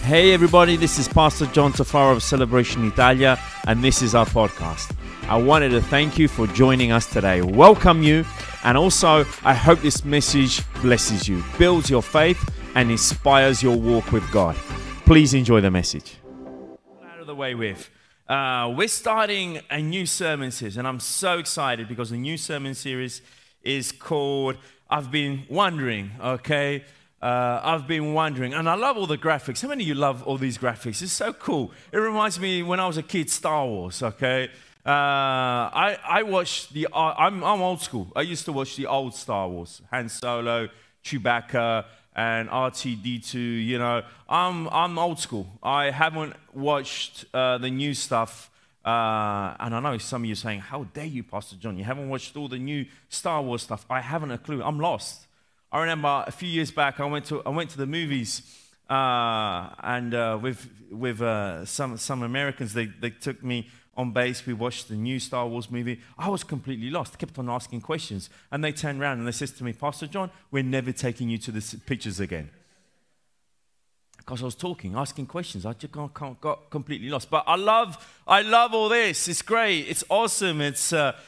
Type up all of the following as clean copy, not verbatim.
Hey everybody, this is Pastor John Tafaro of Celebration Italia, and this is our podcast. I wanted to thank you for joining us today, welcome you, and also I hope this message blesses you, builds your faith, and inspires your walk with God. Please enjoy the message. Out of the way with. We're starting a new sermon series, and I'm so excited because the new sermon series is called I've Been Wondering, okay? I've been wondering, and I love all the graphics. How many of you love all these graphics? It's so cool. It reminds me when I was a kid, Star Wars, okay? I watched I'm old school. I used to watch the old Star Wars, Han Solo, Chewbacca, and R2-D2, you know. I'm old school. I haven't watched the new stuff, and I know some of you are saying, how dare you, Pastor John? You haven't watched all the new Star Wars stuff. I haven't a clue. I'm lost. I remember a few years back, I went to the movies, and with some Americans, they took me on base. We watched the new Star Wars movie. I was completely lost. I kept on asking questions, and they turned around and they said to me, Pastor John, we're never taking you to the pictures again. Because I was asking questions. I just got completely lost. But I love all this. It's great. It's awesome. It's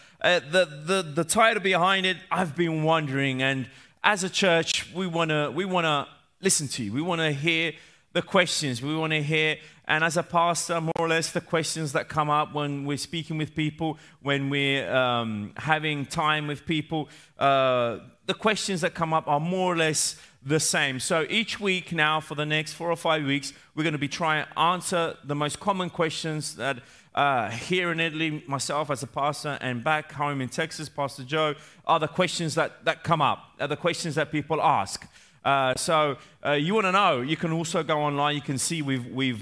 the title behind it. I've been wondering. And as a church, we wanna listen to you. We want to hear the questions. We want to hear, and as a pastor, more or less, the questions that come up when we're speaking with people, when we're having time with people. The questions that come up are more or less the same. So each week now, for the next 4 or 5 weeks, we're going to be trying to answer the most common questions that here in Italy, myself as a pastor, and back home in Texas, Pastor Joe, are the questions that come up, are the questions that people ask. So you want to know, you can also go online. You can see we've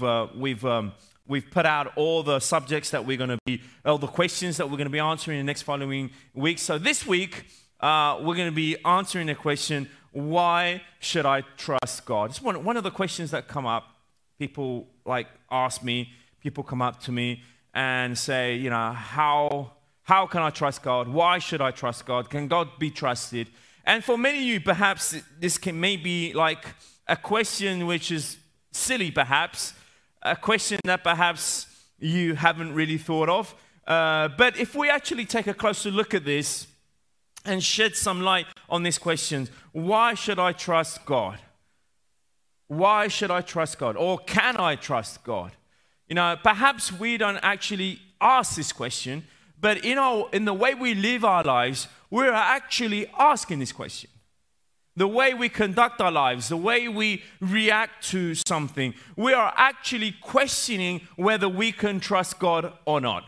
put out all the subjects that we're going to be, all the questions that we're going to be answering in the next following weeks. So this week, we're going to be answering the question, why should I trust God? It's one of the questions that come up. People ask me, people come up to me and say, you know, how can I trust God? Why should I trust God? Can God be trusted? And for many of you, perhaps this may be like a question which is silly, perhaps, a question that perhaps you haven't really thought of. But if we actually take a closer look at this and shed some light on this question, why should I trust God? Why should I trust God? Or can I trust God? You know, perhaps we don't actually ask this question, but in the way we live our lives, we're actually asking this question. The way we conduct our lives, the way we react to something, we are actually questioning whether we can trust God or not.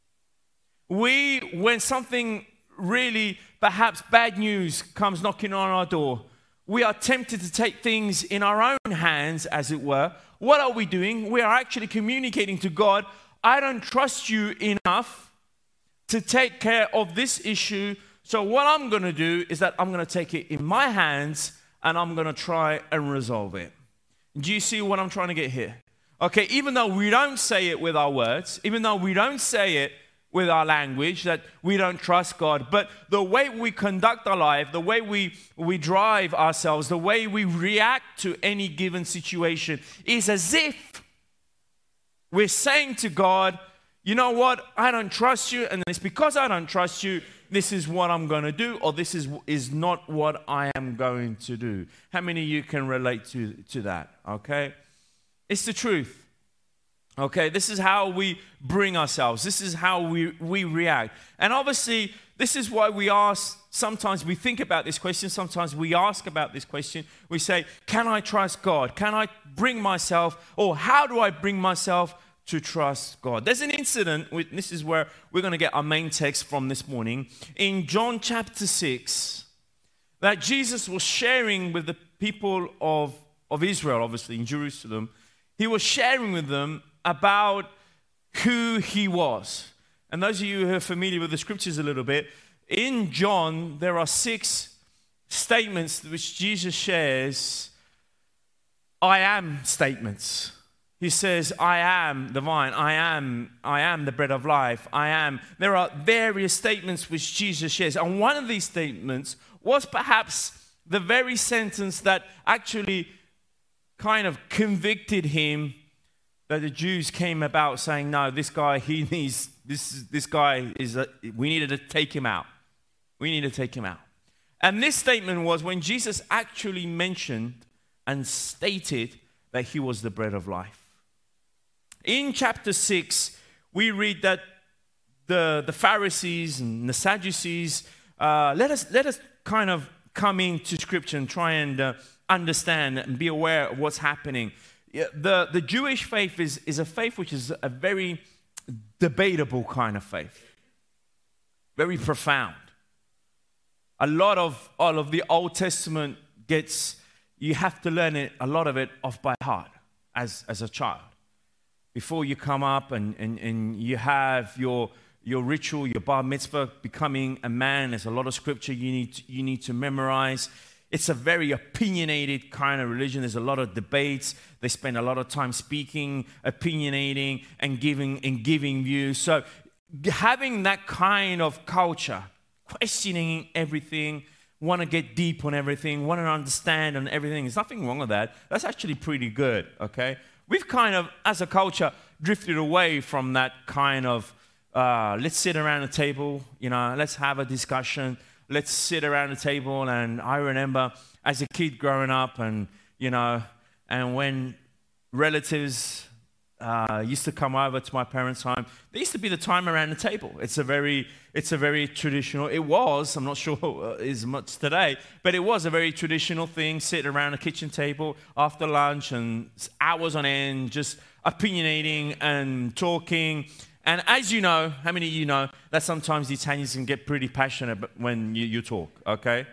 When something really, perhaps bad news comes knocking on our door, we are tempted to take things in our own hands, as it were. What are we doing? We are actually communicating to God, I don't trust you enough to take care of this issue. So what I'm going to do is that I'm going to take it in my hands and I'm going to try and resolve it. Do you see what I'm trying to get here? Okay, even though we don't say it with our words, even though we don't say it with our language, that we don't trust God, but the way we conduct our life, the way we drive ourselves, the way we react to any given situation is as if we're saying to God, you know what, I don't trust you, and it's because I don't trust you, this is what I'm going to do, or this is not what I am going to do. How many of you can relate to that, okay? It's the truth. Okay, this is how we bring ourselves. This is how we react. And obviously, this is why we ask, sometimes we think about this question, sometimes we ask about this question. We say, can I trust God? Can I bring myself, or how do I bring myself to trust God? There's an incident, this is where we're going to get our main text from this morning, in John chapter 6, that Jesus was sharing with the people of Israel, obviously, in Jerusalem. He was sharing with them about who he was. And those of you who are familiar with the scriptures a little bit, in John, there are 6 statements which Jesus shares, I am statements. He says, I am the vine, I am the bread of life, I am. There are various statements which Jesus shares. And one of these statements was perhaps the very sentence that actually kind of convicted him that the Jews came about saying, no, this guy, he needs, this guy is, we needed to take him out. We need to take him out. And this statement was when Jesus actually mentioned and stated that he was the bread of life. In chapter 6, we read that the Pharisees and the Sadducees, let us kind of come into Scripture and try and understand and be aware of what's happening. The Jewish faith is a faith which is a very debatable kind of faith, very profound. A lot of all of the Old Testament you have to learn it, a lot of it off by heart as a child. Before you come up and you have your ritual, your bar mitzvah, becoming a man, there's a lot of scripture you need to memorize. It's a very opinionated kind of religion. There's a lot of debates. They spend a lot of time speaking, opinionating, and giving views. So having that kind of culture, questioning everything, want to get deep on everything, want to understand on everything, there's nothing wrong with that. That's actually pretty good, okay? We've kind of, as a culture, drifted away from that kind of, let's sit around the table, let's have a discussion. Let's sit around the table. And I remember as a kid growing up and when relatives used to come over to my parents' home, there used to be the time around the table. It's a very traditional, it was, I'm not sure as much today, but it was a very traditional thing, sit around a kitchen table after lunch and hours on end, just opinionating and talking. And as you know, how many of you know that sometimes the Italians can get pretty passionate when you talk, okay?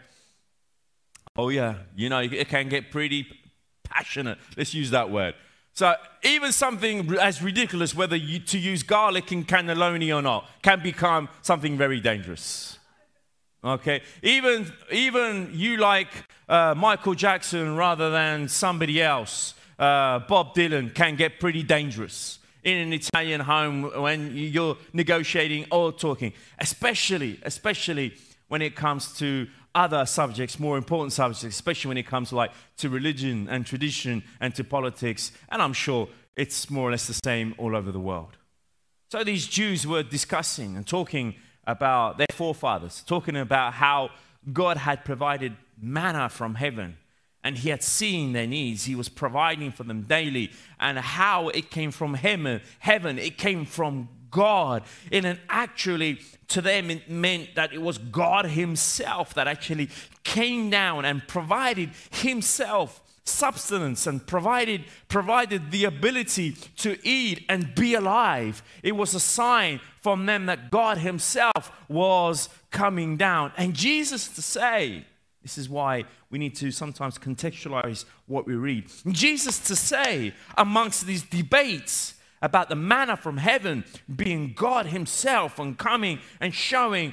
Oh yeah, it can get pretty passionate. Let's use that word. So even something as ridiculous, whether to use garlic in cannelloni or not, can become something very dangerous. Okay? Even you like Michael Jackson rather than somebody else, Bob Dylan, can get pretty dangerous in an Italian home when you're negotiating or talking, especially when it comes to other subjects, more important subjects, especially when it comes to religion and tradition and to politics. And I'm sure it's more or less the same all over the world. So these Jews were discussing and talking about their forefathers, talking about how God had provided manna from heaven. And he had seen their needs. He was providing for them daily. And how it came from heaven. It came from God. And actually, to them, it meant that it was God himself that actually came down and provided himself substance and provided the ability to eat and be alive. It was a sign from them that God himself was coming down. And Jesus to say, this is why we need to sometimes contextualize what we read. Jesus to say, amongst these debates about the manna from heaven being God himself and coming and showing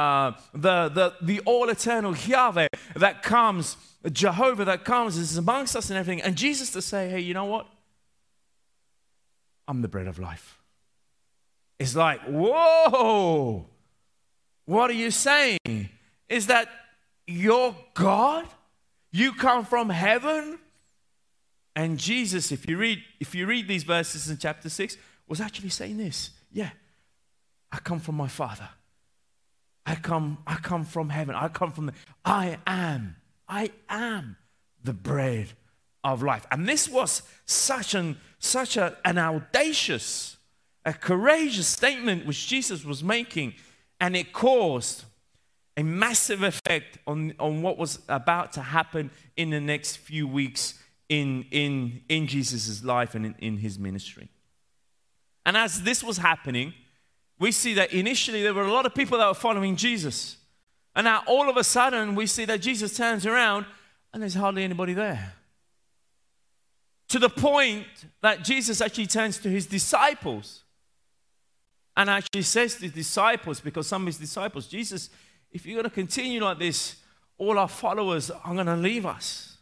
the all-eternal Yahweh that comes, Jehovah that comes, is amongst us and everything. And Jesus to say, hey, you know what? I'm the bread of life. It's like, whoa, what are you saying? Is that you're God? You come from heaven? And Jesus, if you read these verses in chapter 6, was actually saying this. Yeah, I come from my Father. I come from heaven. I am the bread of life. And this was such an audacious, a courageous statement which Jesus was making, and it caused a massive effect on what was about to happen in the next few weeks in Jesus' life and in his ministry. And as this was happening, we see that initially there were a lot of people that were following Jesus. And now all of a sudden we see that Jesus turns around and there's hardly anybody there. To the point that Jesus actually turns to his disciples and actually says to his disciples, because some of his disciples, Jesus, if you're going to continue like this, all our followers are going to leave us.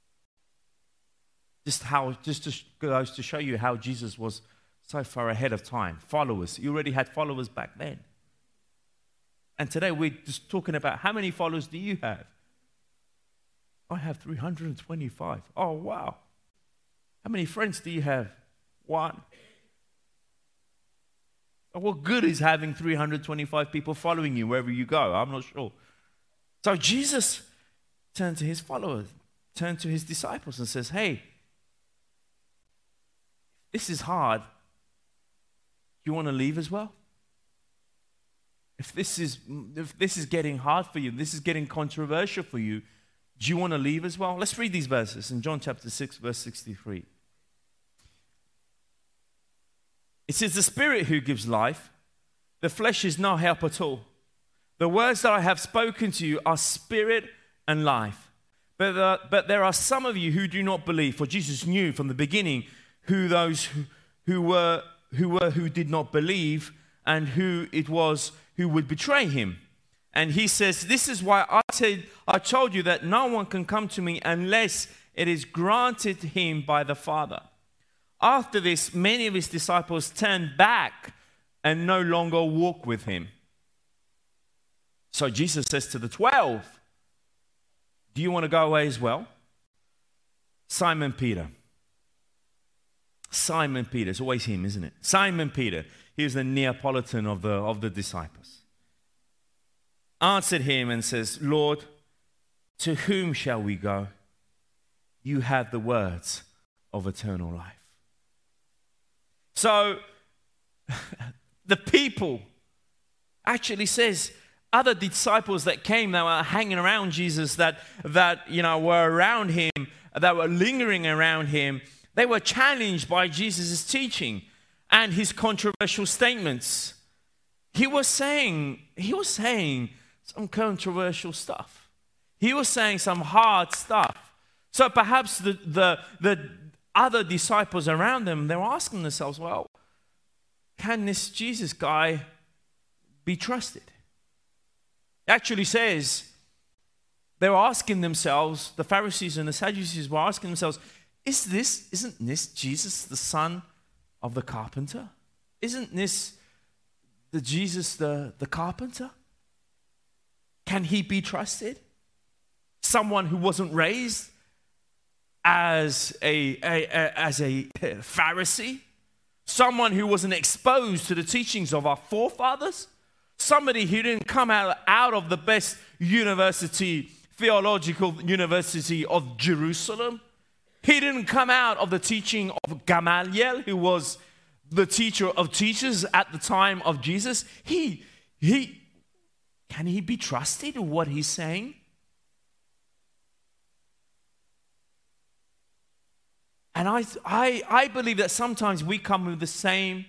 Just goes to show you how Jesus was so far ahead of time. Followers. He already had followers back then. And today we're just talking about how many followers do you have? I have 325. Oh, wow. How many friends do you have? One. What good is having 325 people following you wherever you go? I'm not sure. So Jesus turned to his followers, turned to his disciples and says, hey, this is hard. You want to leave as well? If this is getting hard for you, this is getting controversial for you, do you want to leave as well? Let's read these verses in John chapter 6, verse 63. It says, the Spirit who gives life, the flesh is no help at all. The words that I have spoken to you are spirit and life. But there are some of you who do not believe, for Jesus knew from the beginning who those who did not believe and who it was who would betray him. And he says, this is why I told you that no one can come to me unless it is granted him by the Father. After this, many of his disciples turned back and no longer walked with him. So Jesus says to the 12, do you want to go away as well? Simon Peter. Simon Peter. It's always him, isn't it? Simon Peter. He was the Neapolitan of the disciples. Answered him and says, Lord, to whom shall we go? You have the words of eternal life. So, the people actually says, other disciples that came, that were hanging around Jesus, that were around him, that were lingering around him, they were challenged by Jesus' teaching and his controversial statements. He was saying some controversial stuff. He was saying some hard stuff. So perhaps the other disciples around them, they were asking themselves, well, can this Jesus guy be trusted? It actually says they were asking themselves, the Pharisees and the Sadducees were asking themselves, isn't this Jesus, the son of the carpenter? Isn't this the Jesus, the carpenter? Can he be trusted? Someone who wasn't raised as a Pharisee, someone who wasn't exposed to the teachings of our forefathers, somebody who didn't come out of the best theological university of Jerusalem. He didn't come out of the teaching of Gamaliel, who was the teacher of teachers at the time of Jesus. Can he be trusted in what he's saying? And I believe that sometimes we come with the same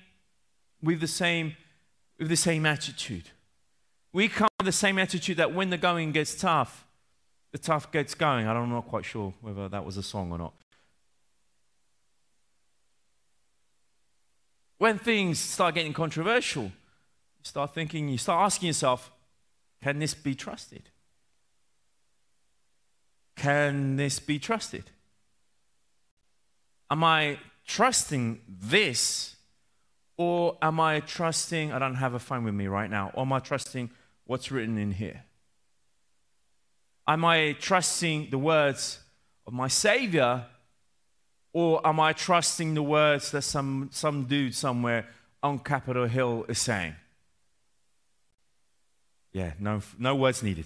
attitude. We come with the same attitude that when the going gets tough, the tough gets going. I'm not quite sure whether that was a song or not. When things start getting controversial, you start asking yourself, can this be trusted? Can this be trusted? Am I trusting this, or am I trusting, I don't have a phone with me right now, or am I trusting what's written in here? Am I trusting the words of my Savior, or am I trusting the words that some dude somewhere on Capitol Hill is saying? Yeah, no words needed.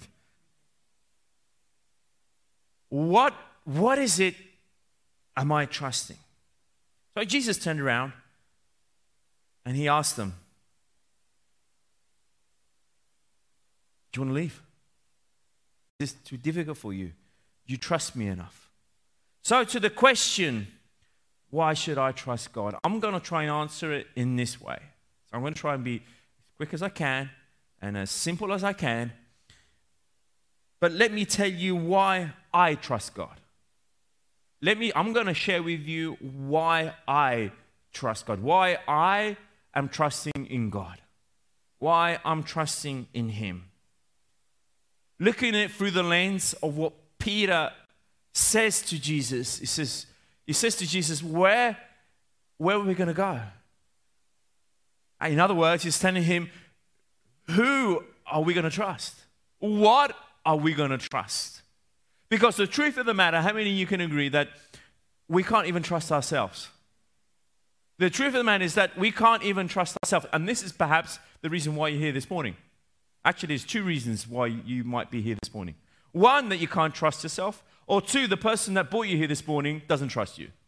What is it am I trusting? So Jesus turned around and he asked them, do you want to leave? Is this too difficult for you? Do you trust me enough? So to the question, why should I trust God? I'm going to try and answer it in this way. So I'm going to try and be as quick as I can and as simple as I can. But let me tell you why I trust God. I'm going to share with you why I trust God. Why I am trusting in God. Why I'm trusting in Him. Looking at it through the lens of what Peter says to Jesus. He says to Jesus, where are we going to go? In other words, he's telling him, who are we going to trust? What are we going to trust? Because the truth of the matter, how many of you can agree that we can't even trust ourselves. The truth of the matter is that we can't even trust ourselves. And this is perhaps the reason why you're here this morning. Actually, there's two reasons why you might be here this morning. One, that you can't trust yourself. Or two, the person that brought you here this morning doesn't trust you.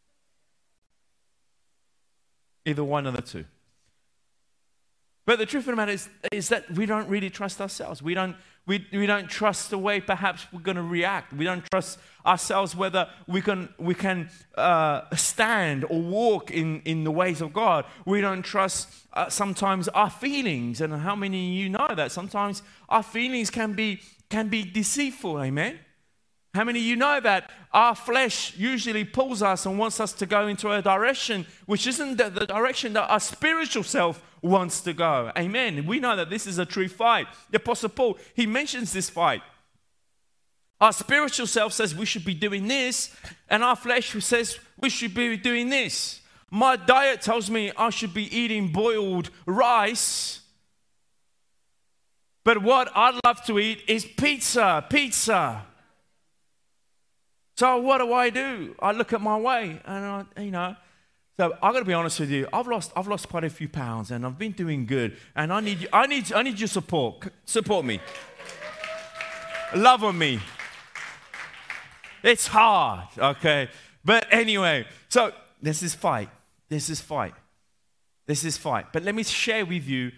Either one of the two. But the truth of the matter is that we don't really trust ourselves. We don't trust the way perhaps we're going to react. We don't trust ourselves whether we can stand or walk in the ways of God. We don't trust sometimes our feelings. And how many of you know that sometimes our feelings can be deceitful? Amen. How many of you know that our flesh usually pulls us and wants us to go into a direction which isn't the direction that our spiritual self wants to go? Amen. We know that this is a true fight. The Apostle Paul, he mentions this fight. Our spiritual self says we should be doing this, and our flesh says we should be doing this. My diet tells me I should be eating boiled rice, but what I'd love to eat is pizza. So what do? I look at my way, and so I've got to be honest with you. I've lost quite a few pounds, and I've been doing good. And I need your support. Support me. Love on me. It's hard, okay. But anyway, so this is fight. But let me share with you.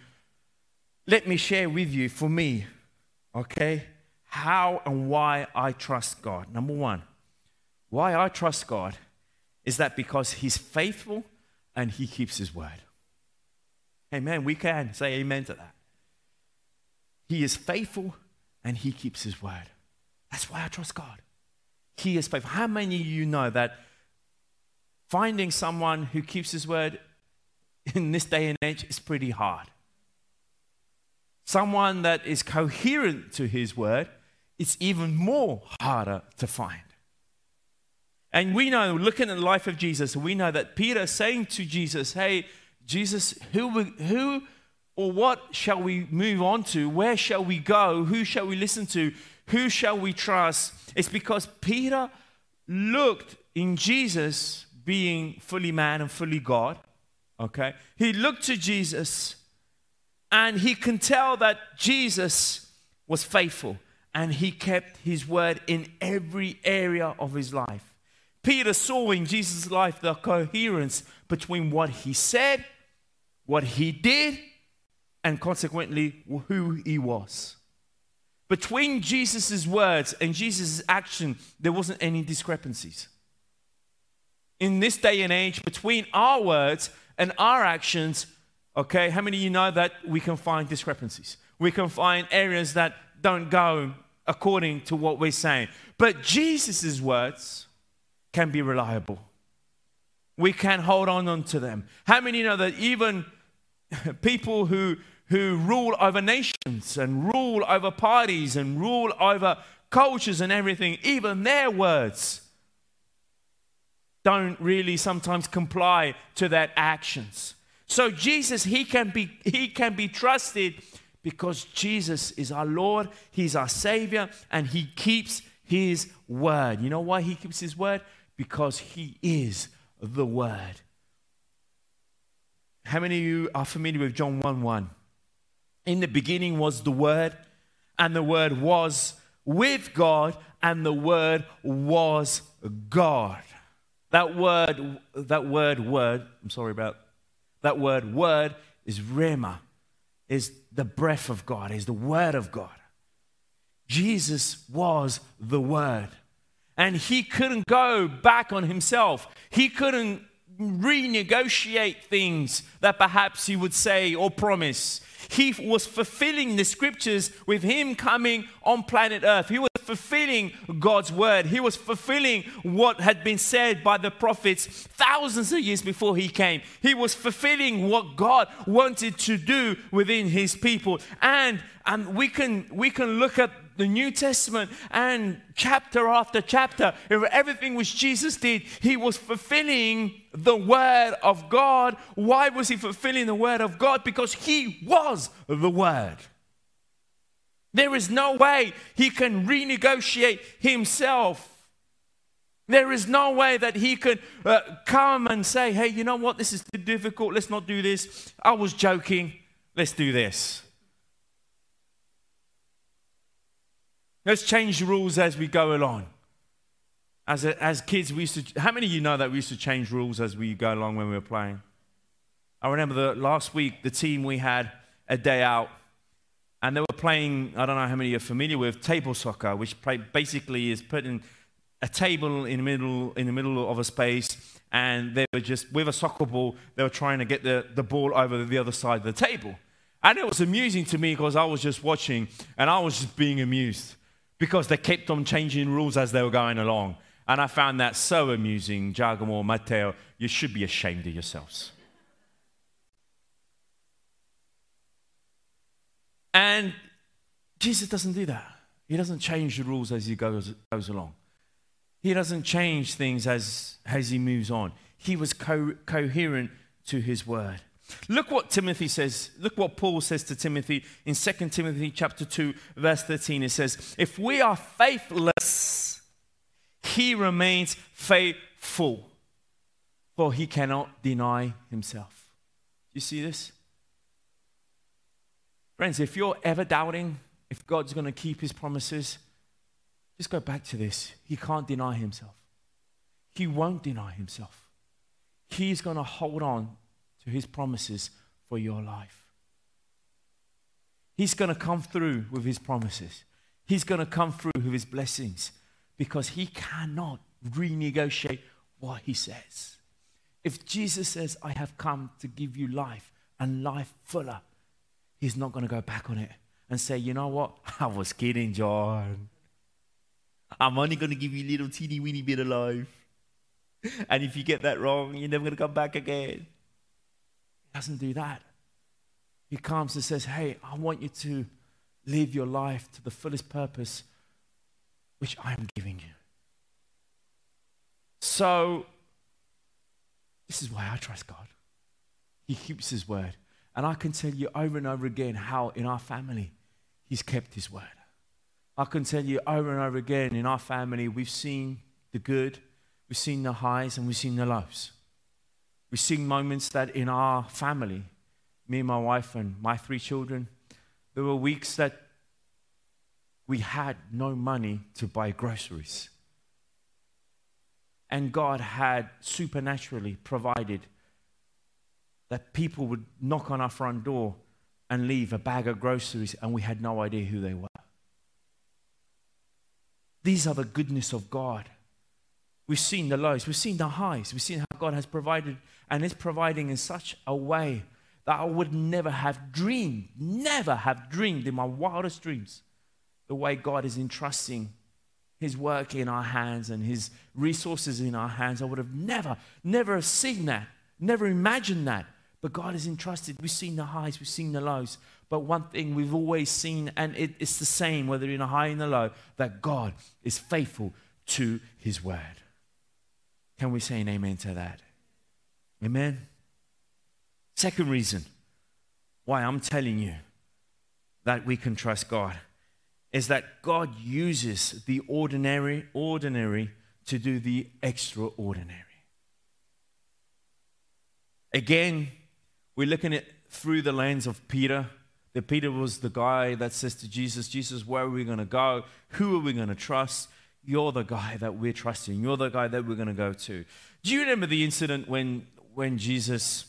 For me, okay, how and why I trust God. Number one. Why I trust God is that because He's faithful and He keeps His word. Amen. We can say amen to that. He is faithful and He keeps His word. That's why I trust God. He is faithful. How many of you know that finding someone who keeps His word in this day and age is pretty hard? Someone that is coherent to His word, it's even more harder to find. And we know, looking at the life of Jesus, we know that Peter saying to Jesus, hey, Jesus, who or what shall we move on to? Where shall we go? Who shall we listen to? Who shall we trust? It's because Peter looked in Jesus being fully man and fully God, okay? He looked to Jesus and he can tell that Jesus was faithful and He kept His word in every area of His life. Peter saw in Jesus' life the coherence between what He said, what He did, and consequently who He was. Between Jesus' words and Jesus' action, there wasn't any discrepancies. In this day and age, between our words and our actions, okay, how many of you know that we can find discrepancies? We can find areas that don't go according to what we're saying. But Jesus' words can be reliable. We can hold on to them. How many know that even people who rule over nations and rule over parties and rule over cultures and everything, even their words don't really sometimes comply to their actions. So Jesus, he can be trusted because Jesus is our Lord, He's our Savior, and He keeps His word. You know why He keeps His word? Because He is the Word. How many of you are familiar with John 1:1? In the beginning was the Word, and the Word was with God, and the Word was God. That word is Rhema, is the breath of God, is the Word of God. Jesus was the Word. And He couldn't go back on Himself. He couldn't renegotiate things that perhaps He would say or promise. He was fulfilling the scriptures with Him coming on planet Earth. He was fulfilling God's word. He was fulfilling what had been said by the prophets thousands of years before He came. He was fulfilling what God wanted to do within His people. And we can look at the New Testament and chapter after chapter, everything which Jesus did, He was fulfilling the Word of God. Why was He fulfilling the Word of God? Because He was the Word. There is no way He can renegotiate Himself. There is no way that he could come and say, hey, you know what? This is too difficult. Let's not do this. I was joking. Let's do this. Let's change the rules as we go along. As kids, we used to. How many of you know that we used to change rules as we go along when we were playing? I remember last week, the team, we had a day out, and they were playing, I don't know how many you're familiar with, table soccer, which basically is putting a table in the middle of a space, and they were just, with a soccer ball, they were trying to get the ball over the other side of the table. And it was amusing to me because I was just watching, and I was just being amused because they kept on changing rules as they were going along. And I found that so amusing. Giacomo, Matteo, you should be ashamed of yourselves. And Jesus doesn't do that. He doesn't change the rules as he goes along. He doesn't change things as he moves on. He was coherent to his word. Look what Timothy says. Look what Paul says to Timothy in 2 Timothy chapter 2, verse 13. It says, if we are faithless, he remains faithful, for he cannot deny himself. You see this? Friends, if you're ever doubting if God's going to keep his promises, just go back to this. He can't deny himself. He won't deny himself. He's going to hold on to his promises for your life. He's going to come through with his promises. He's going to come through with his blessings because he cannot renegotiate what he says. If Jesus says, I have come to give you life and life fuller, he's not going to go back on it and say, you know what? I was kidding, John. I'm only going to give you a little teeny weeny bit of life. And if you get that wrong, you're never going to come back again. He doesn't do that. He comes and says, hey, I want you to live your life to the fullest purpose which I am giving you. So, this is why I trust God. He keeps his word. And I can tell you over and over again how in our family, he's kept his word. I can tell you over and over again in our family, we've seen the good, we've seen the highs, and we've seen the lows. We've seen moments that in our family, me and my wife and my 3 children, there were weeks that we had no money to buy groceries. And God had supernaturally provided that people would knock on our front door and leave a bag of groceries, and we had no idea who they were. These are the goodness of God. We've seen the lows, we've seen the highs, we've seen how God has provided and is providing in such a way that I would never have dreamed in my wildest dreams, the way God is entrusting his work in our hands and his resources in our hands. I would have never seen that, never imagined that. But God is entrusted. We've seen the highs, we've seen the lows. But one thing we've always seen, and it's the same whether in a high or in a low, that God is faithful to his word. Can we say an amen to that? Amen? Second reason why I'm telling you that we can trust God is that God uses the ordinary to do the extraordinary. Again, we're looking at through the lens of Peter. That Peter was the guy that says to Jesus, Jesus, where are we going to go? Who are we going to trust? You're the guy that we're trusting. You're the guy that we're going to go to. Do you remember the incident when Jesus,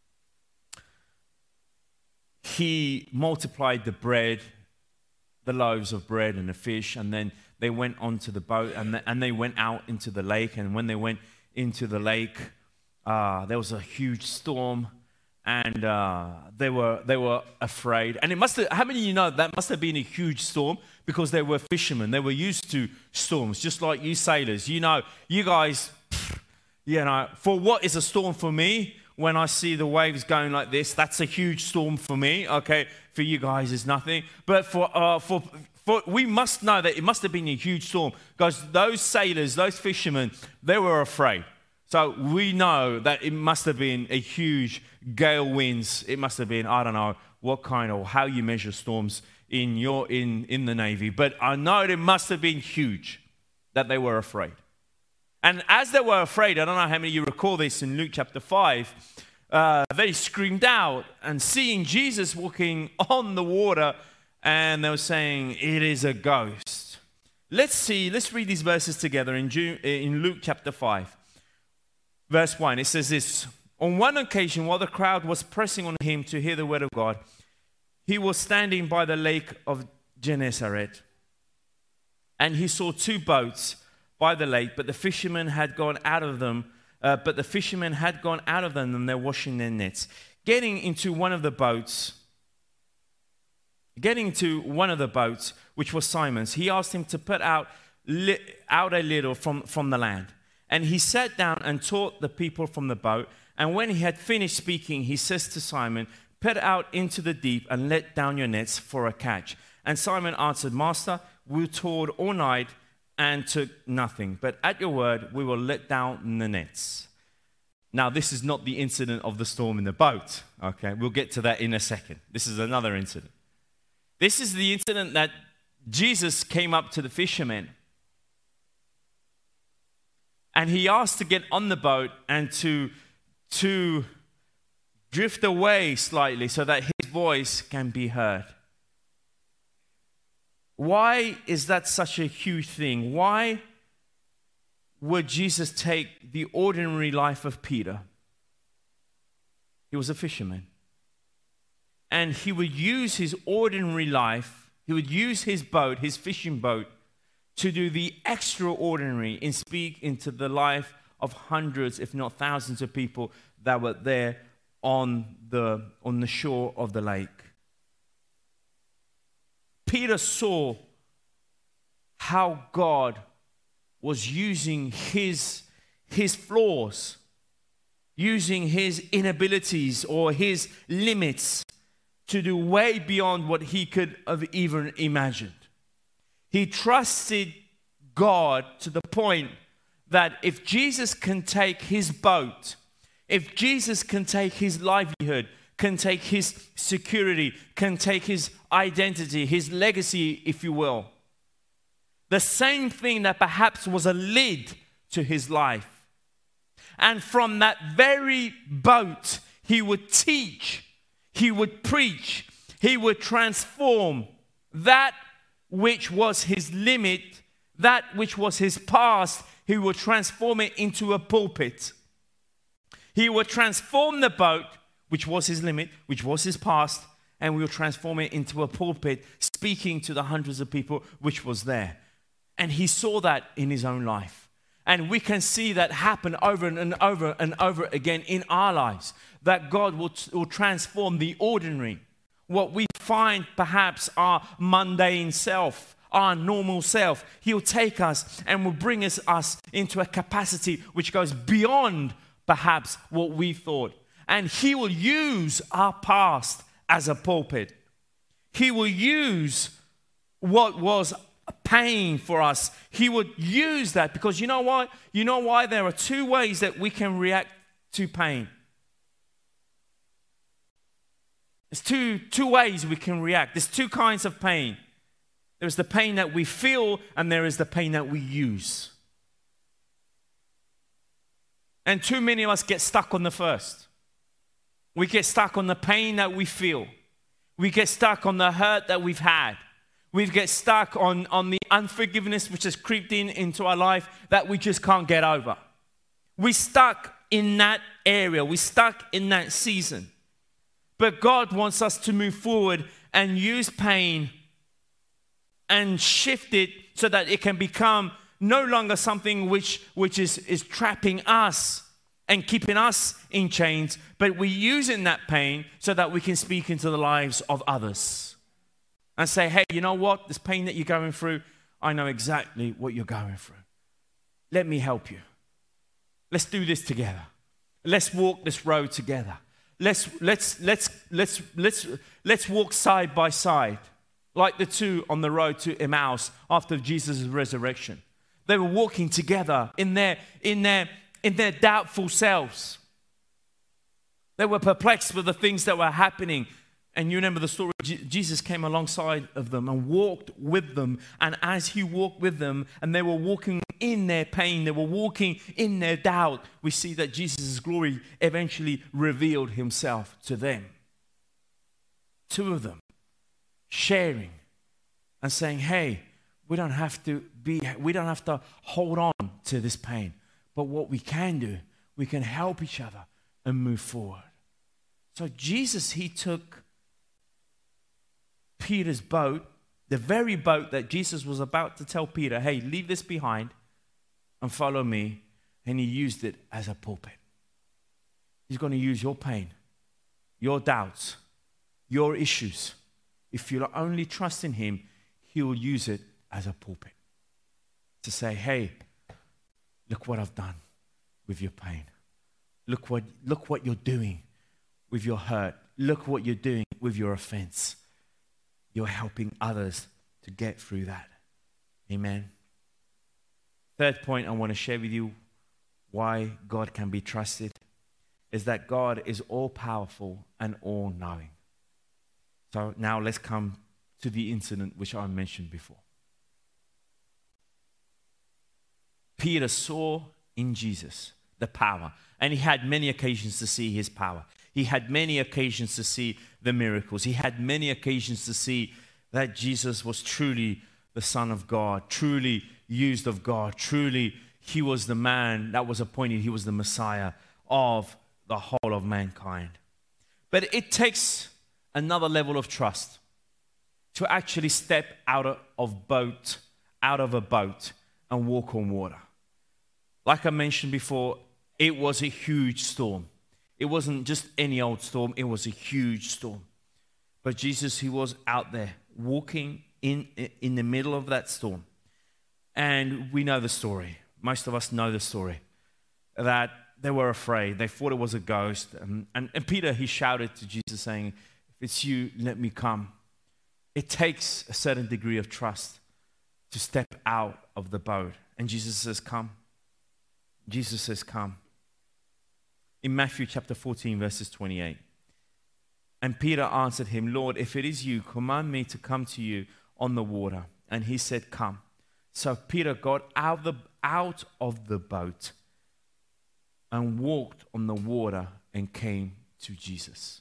he multiplied the bread, the loaves of bread and the fish, and then they went onto the boat and they went out into the lake. And when they went into the lake, there was a huge storm, and they were afraid. And it must have, how many of you know that must have been a huge storm? Because they were fishermen. They were used to storms, just like you sailors. You know, you guys, for what is a storm for me? When I see the waves going like this, that's a huge storm for me. Okay, for you guys, it's nothing. But for we must know that it must have been a huge storm, because those sailors, those fishermen, they were afraid. So we know that it must have been a huge gale winds. It must have been, I don't know what kind or how you measure storms in the Navy, but I know it must have been huge that they were afraid. And as they were afraid, I don't know how many of you recall this in Luke chapter 5, they screamed out and seeing Jesus walking on the water, and they were saying, it is a ghost. Let's read these verses together in Luke chapter 5. Verse 1, it says this, on one occasion, while the crowd was pressing on him to hear the word of God, he was standing by the lake of Gennesaret, and he saw two boats by the lake, but the fishermen had gone out of them. And they're washing their nets. Getting into one of the boats, which was Simon's, he asked him to put out a little from the land. And he sat down and taught the people from the boat. And when he had finished speaking, he says to Simon, put out into the deep and let down your nets for a catch. And Simon answered, Master, we toiled all night and took nothing, but at your word we will let down the nets. Now, this is not the incident of the storm in the boat. Okay, we'll get to that in a second. This is another incident. This is the incident that Jesus came up to the fishermen, and he asked to get on the boat and to drift away slightly so that his voice can be heard. Why is that such a huge thing? Why would Jesus take the ordinary life of Peter? He was a fisherman. And he would use his ordinary life, he would use his boat, his fishing boat, to do the extraordinary and speak into the life of hundreds, if not thousands of people that were there on the shore of the lake. Peter saw how God was using his flaws, using his inabilities or his limits to do way beyond what he could have even imagined. He trusted God to the point that if Jesus can take his boat, if Jesus can take his livelihood, can take his security, can take his identity, his legacy, if you will. The same thing that perhaps was a lid to his life. And from that very boat, he would teach, he would preach, he would transform that which was his limit, that which was his past, he would transform it into a pulpit. He would transform the boat, which was his limit, which was his past, and we will transform it into a pulpit, speaking to the hundreds of people which was there. And he saw that in his own life. And we can see that happen over and over and over again in our lives, that God will transform the ordinary, what we find perhaps our mundane self, our normal self. He'll take us and will bring us into a capacity which goes beyond perhaps what we thought. And he will use our past as a pulpit. He will use what was pain for us. He would use that because you know what? You know why? There are two ways that we can react to pain. There's two ways we can react. There's two kinds of pain. There's the pain that we feel and there is the pain that we use. And too many of us get stuck on the first. We get stuck on the pain that we feel. We get stuck on the hurt that we've had. We get stuck on the unforgiveness which has creeped into our life that we just can't get over. We're stuck in that area. We're stuck in that season. But God wants us to move forward and use pain and shift it so that it can become no longer something which is trapping us and keeping us in chains, but we're using that pain so that we can speak into the lives of others and say, hey, you know what? This pain that you're going through, I know exactly what you're going through. Let me help you. Let's do this together. Let's walk this road together. Let's walk side by side, like the two on the road to Emmaus after Jesus' resurrection. They were walking together in their doubtful selves. They were perplexed with the things that were happening. And you remember the story, Jesus came alongside of them and walked with them. And as he walked with them and they were walking in their pain, they were walking in their doubt, we see that Jesus' glory eventually revealed himself to them. Two of them sharing and saying, hey, we don't have to hold on to this pain. But what we can do, we can help each other and move forward. So Jesus, he took Peter's boat, the very boat that Jesus was about to tell Peter, hey, leave this behind and follow me. And he used it as a pulpit. He's going to use your pain, your doubts, your issues. If you only trust in him, he will use it as a pulpit to say, hey, look what I've done with your pain. Look what you're doing with your hurt. Look what you're doing with your offense. You're helping others to get through that. Amen. Third point I want to share with you why God can be trusted is that God is all-powerful and all-knowing. So now let's come to the incident which I mentioned before. Peter saw in Jesus the power, and he had many occasions to see his power. He had many occasions to see the miracles. He had many occasions to see that Jesus was truly the Son of God, truly used of God, truly he was the man that was appointed. He was the Messiah of the whole of mankind. But it takes another level of trust to actually step out of a boat and walk on water. Like I mentioned before, it was a huge storm. It wasn't just any old storm, it was a huge storm. But Jesus, he was out there walking in the middle of that storm. And we know the story. Most of us know the story. That they were afraid. They thought it was a ghost. And Peter, he shouted to Jesus saying, if it's you, let me come. It takes a certain degree of trust to step out of the boat. And Jesus says, come. Jesus says, come. In Matthew chapter 14, verses 28. And Peter answered him, Lord, if it is you, command me to come to you on the water. And he said, come. So Peter got out of the boat and walked on the water and came to Jesus.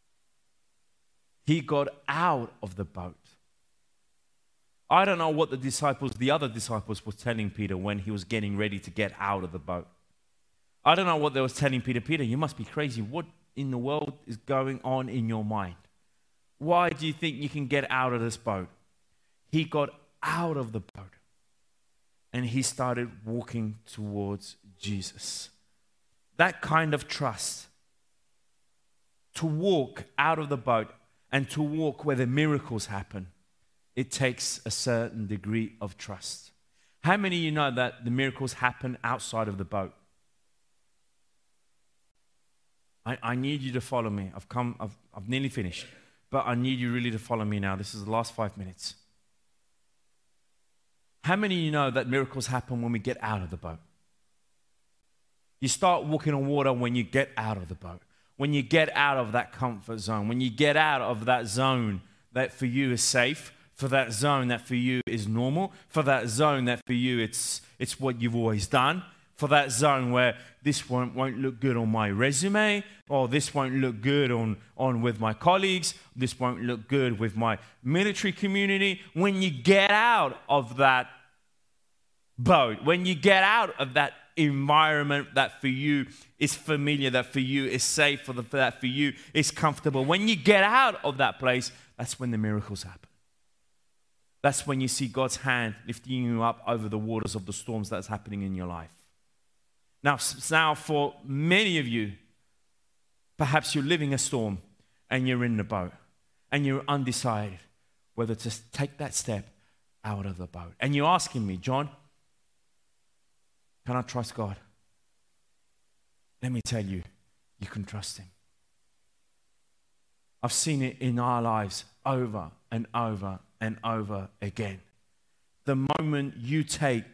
He got out of the boat. I don't know what the other disciples were telling Peter when he was getting ready to get out of the boat. I don't know what they were telling Peter. Peter, you must be crazy. What in the world is going on in your mind? Why do you think you can get out of this boat? He got out of the boat and he started walking towards Jesus. That kind of trust, to walk out of the boat and to walk where the miracles happen, it takes a certain degree of trust. How many of you know that the miracles happen outside of the boat? I need you to follow me. I've nearly finished, but I need you really to follow me now. This is the last 5 minutes. How many of you know that miracles happen when we get out of the boat? You start walking on water when you get out of the boat, when you get out of that comfort zone, when you get out of that zone that for you is safe, for that zone that for you is normal, for that zone that for you it's what you've always done, for that zone where this won't look good on my resume, or this won't look good on with my colleagues, this won't look good with my military community. When you get out of that boat, when you get out of that environment that for you is familiar, that for you is safe, that for you is comfortable, when you get out of that place, that's when the miracles happen. That's when you see God's hand lifting you up over the waters of the storms that's happening in your life. Now for many of you, perhaps you're living a storm and you're in the boat and you're undecided whether to take that step out of the boat. And you're asking me, John, can I trust God? Let me tell you, you can trust him. I've seen it in our lives over and over and over again. The moment you take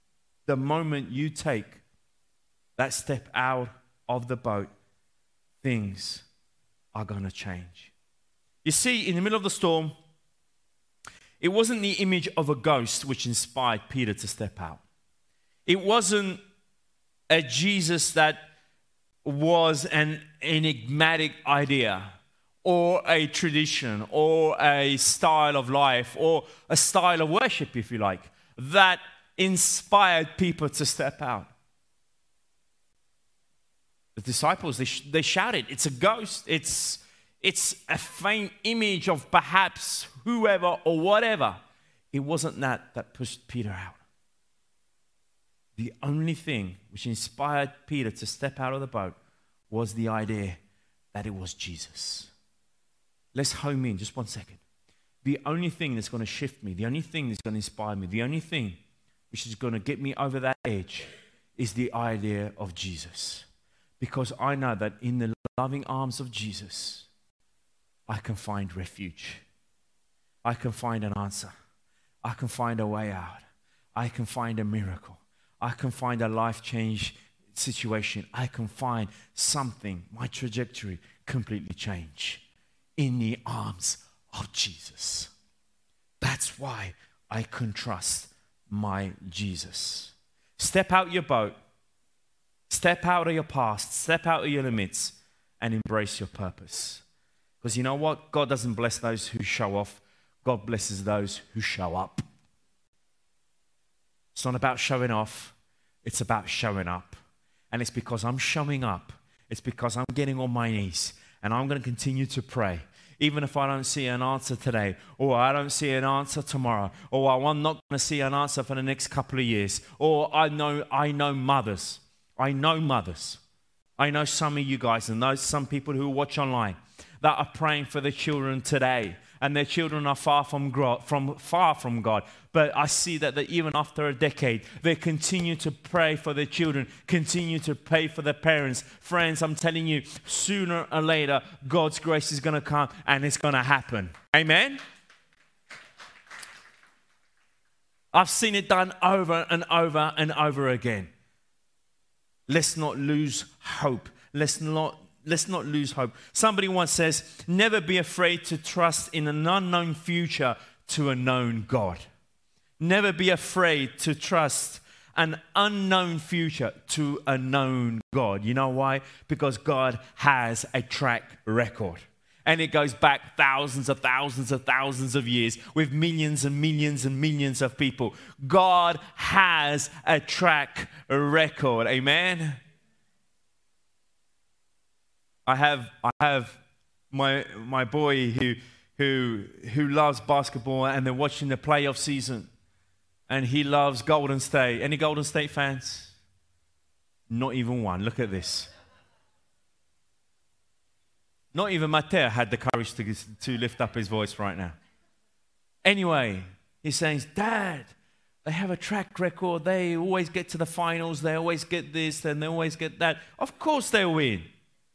that step out of the boat, things are going to change. You see, in the middle of the storm, it wasn't the image of a ghost which inspired Peter to step out. It wasn't a Jesus that was an enigmatic idea or a tradition or a style of life or a style of worship, if you like, that inspired people to step out. The disciples, they shouted, "It's a ghost. It's a faint image of perhaps whoever or whatever." It wasn't that pushed Peter out. The only thing which inspired Peter to step out of the boat was the idea that it was Jesus. Let's home in just 1 second. The only thing that's going to shift me, the only thing that's going to inspire me, the only thing which is going to get me over that edge is the idea of Jesus. Because I know that in the loving arms of Jesus, I can find refuge. I can find an answer. I can find a way out. I can find a miracle. I can find a life change situation. I can find something, my trajectory completely change in the arms of Jesus. That's why I can trust my Jesus. Step out your boat. Step out of your past. Step out of your limits and embrace your purpose. Because you know what? God doesn't bless those who show off. God blesses those who show up. It's not about showing off. It's about showing up. And it's because I'm showing up. It's because I'm getting on my knees. And I'm going to continue to pray. Even if I don't see an answer today, or I don't see an answer tomorrow, or I'm not going to see an answer for the next couple of years, or I know mothers. I know some of you guys and some people who watch online that are praying for their children today, and their children are far from God. But I see that even after a decade, they continue to pray for their children, continue to pray for their parents. Friends, I'm telling you, sooner or later, God's grace is going to come and it's going to happen. Amen? I've seen it done over and over and over again. Let's not lose hope. Let's not lose hope. Somebody once says, never be afraid to trust in an unknown future to a known God. Never be afraid to trust an unknown future to a known God. You know why? Because God has a track record. And it goes back thousands of years with millions and millions and millions of people. God has a track record. Amen? I have my boy who loves basketball, and they're watching the playoff season, and he loves Golden State. Any Golden State fans? Not even one. Look at this. Not even Matteo had the courage to lift up his voice right now. Anyway, he's saying, Dad, they have a track record. They always get to the finals. They always get this and they always get that. Of course they'll win.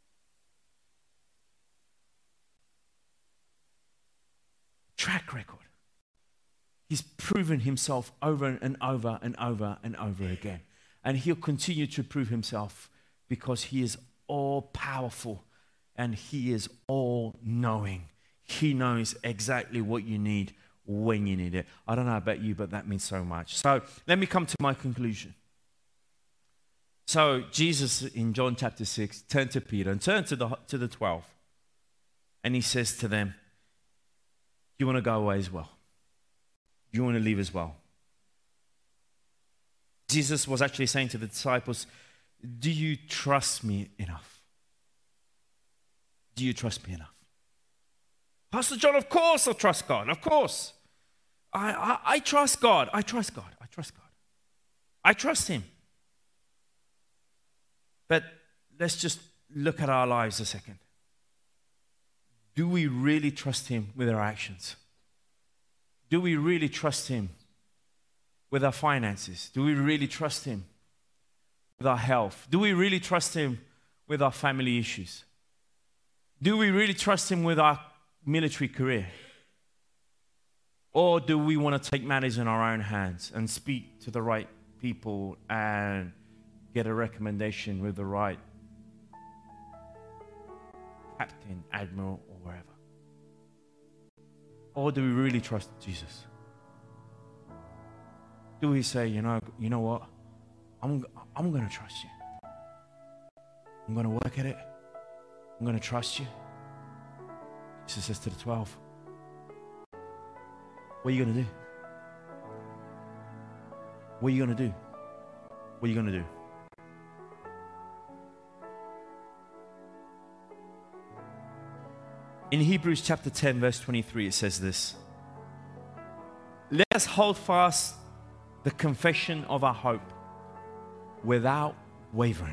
Track record. He's proven himself over and over and over and over again. And he'll continue to prove himself because he is all powerful and he is all knowing. He knows exactly what you need when you need it. I don't know about you, but that means so much. So let me come to my conclusion. So Jesus in John chapter 6 turned to Peter and turned to the 12. And he says to them, you want to go away as well? You want to leave as well? Jesus was actually saying to the disciples, do you trust me enough? Do you trust me enough? Pastor John, of course I trust God. Of course. I trust God. I trust God. I trust God. I trust Him. But let's just look at our lives a second. Do we really trust Him with our actions? Do we really trust Him with our finances? Do we really trust Him with our health? Do we really trust Him with our family issues? Do we really trust Him with our military career? Or do we want to take matters in our own hands and speak to the right people and get a recommendation with the right captain, admiral, or wherever? Or do we really trust Jesus? Do we say, you know what? I'm going to trust you. I'm going to work at it. I'm going to trust you. Jesus says to the 12, what are you going to do? What are you going to do? What are you going to do? In Hebrews chapter 10, verse 23, it says this. Let us hold fast the confession of our hope without wavering.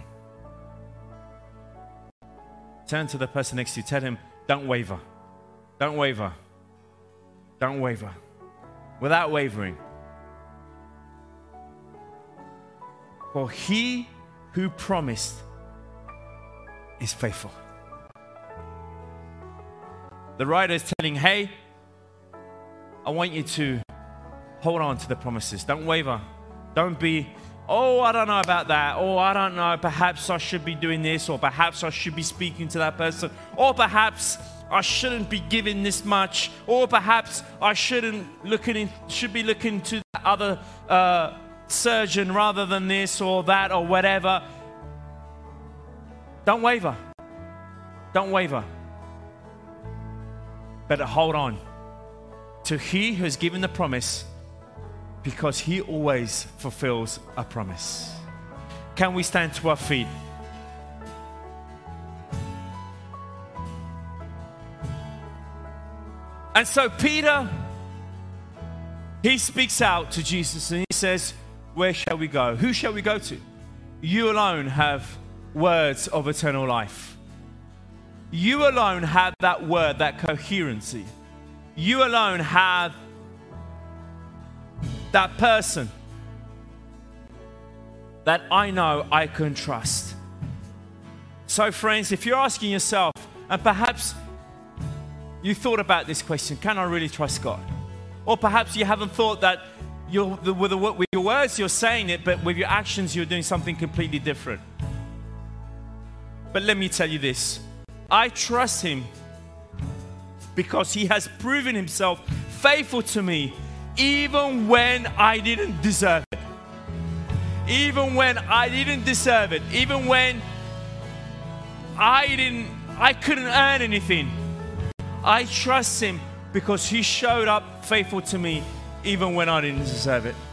Turn to the person next to you. Tell him, don't waver. Don't waver. Don't waver. Without wavering. For he who promised is faithful. The writer is telling, hey, I want you to hold on to the promises. Don't waver. Don't be, oh, I don't know about that. Oh, I don't know. Perhaps I should be doing this, or perhaps I should be speaking to that person, or perhaps I shouldn't be giving this much, or perhaps I should be looking to that other surgeon rather than this or that or whatever. Don't waver. Don't waver. But hold on to he who has given the promise, because he always fulfills a promise. Can we stand to our feet? And so Peter, he speaks out to Jesus and he says, where shall we go? Who shall we go to? You alone have words of eternal life. You alone have that word, that coherency. You alone have that person that I know I can trust. So friends, if you're asking yourself, and perhaps you thought about this question, can I really trust God? Or perhaps you haven't thought that with your words you're saying it, but with your actions you're doing something completely different. But let me tell you this. I trust him because he has proven himself faithful to me even when I didn't deserve it. Even when I didn't deserve it. Even when I couldn't earn anything. I trust him because he showed up faithful to me even when I didn't deserve it.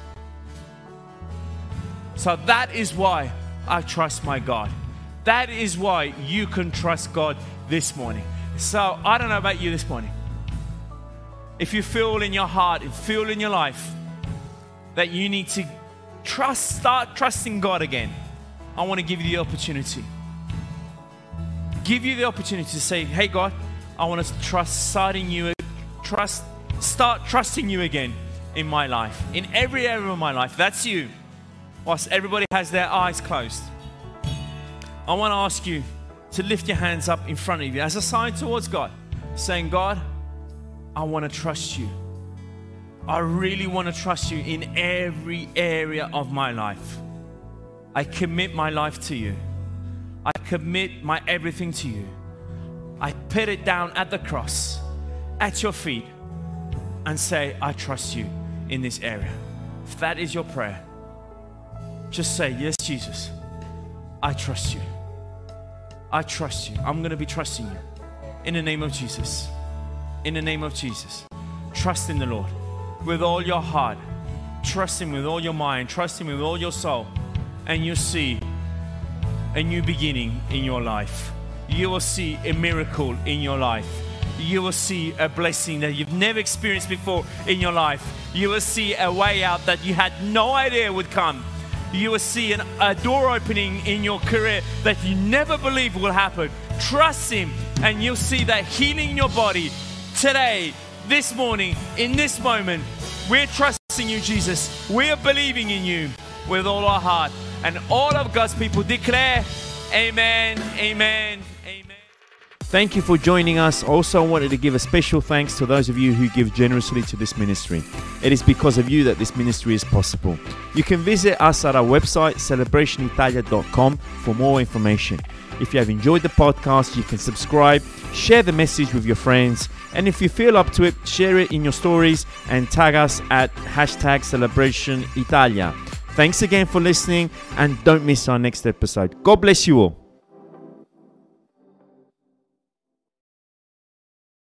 So that is why I trust my God. That is why you can trust God this morning. So I don't know about you this morning. If you feel in your heart, and feel in your life that you need to start trusting God again, I want to give you the opportunity. Give you the opportunity to say, hey God, I want to start trusting you again in my life, in every area of my life. That's you. Whilst everybody has their eyes closed, I want to ask you to lift your hands up in front of you as a sign towards God, saying, God, I want to trust you. I really want to trust you in every area of my life. I commit my life to you. I commit my everything to you. I put it down at the cross, at your feet, and say, I trust you in this area. If that is your prayer, just say, yes, Jesus, I trust you. I trust you. I'm going to be trusting you. In the name of Jesus. In the name of Jesus. Trust in the Lord with all your heart. Trust him with all your mind. Trust him with all your soul. And you'll see a new beginning in your life. You will see a miracle in your life. You will see a blessing that you've never experienced before in your life. You will see a way out that you had no idea would come. You will see a door opening in your career that you never believed will happen. Trust him and you'll see that healing in your body today, this morning, in this moment. We're trusting you, Jesus. We're believing in you with all our heart. And all of God's people declare, amen, amen, amen. Thank you for joining us. Also, I wanted to give a special thanks to those of you who give generously to this ministry. It is because of you that this ministry is possible. You can visit us at our website, celebrationitalia.com, for more information. If you have enjoyed the podcast, you can subscribe, share the message with your friends, and if you feel up to it, share it in your stories and tag us at #CelebrationItalia. Thanks again for listening, and don't miss our next episode. God bless you all.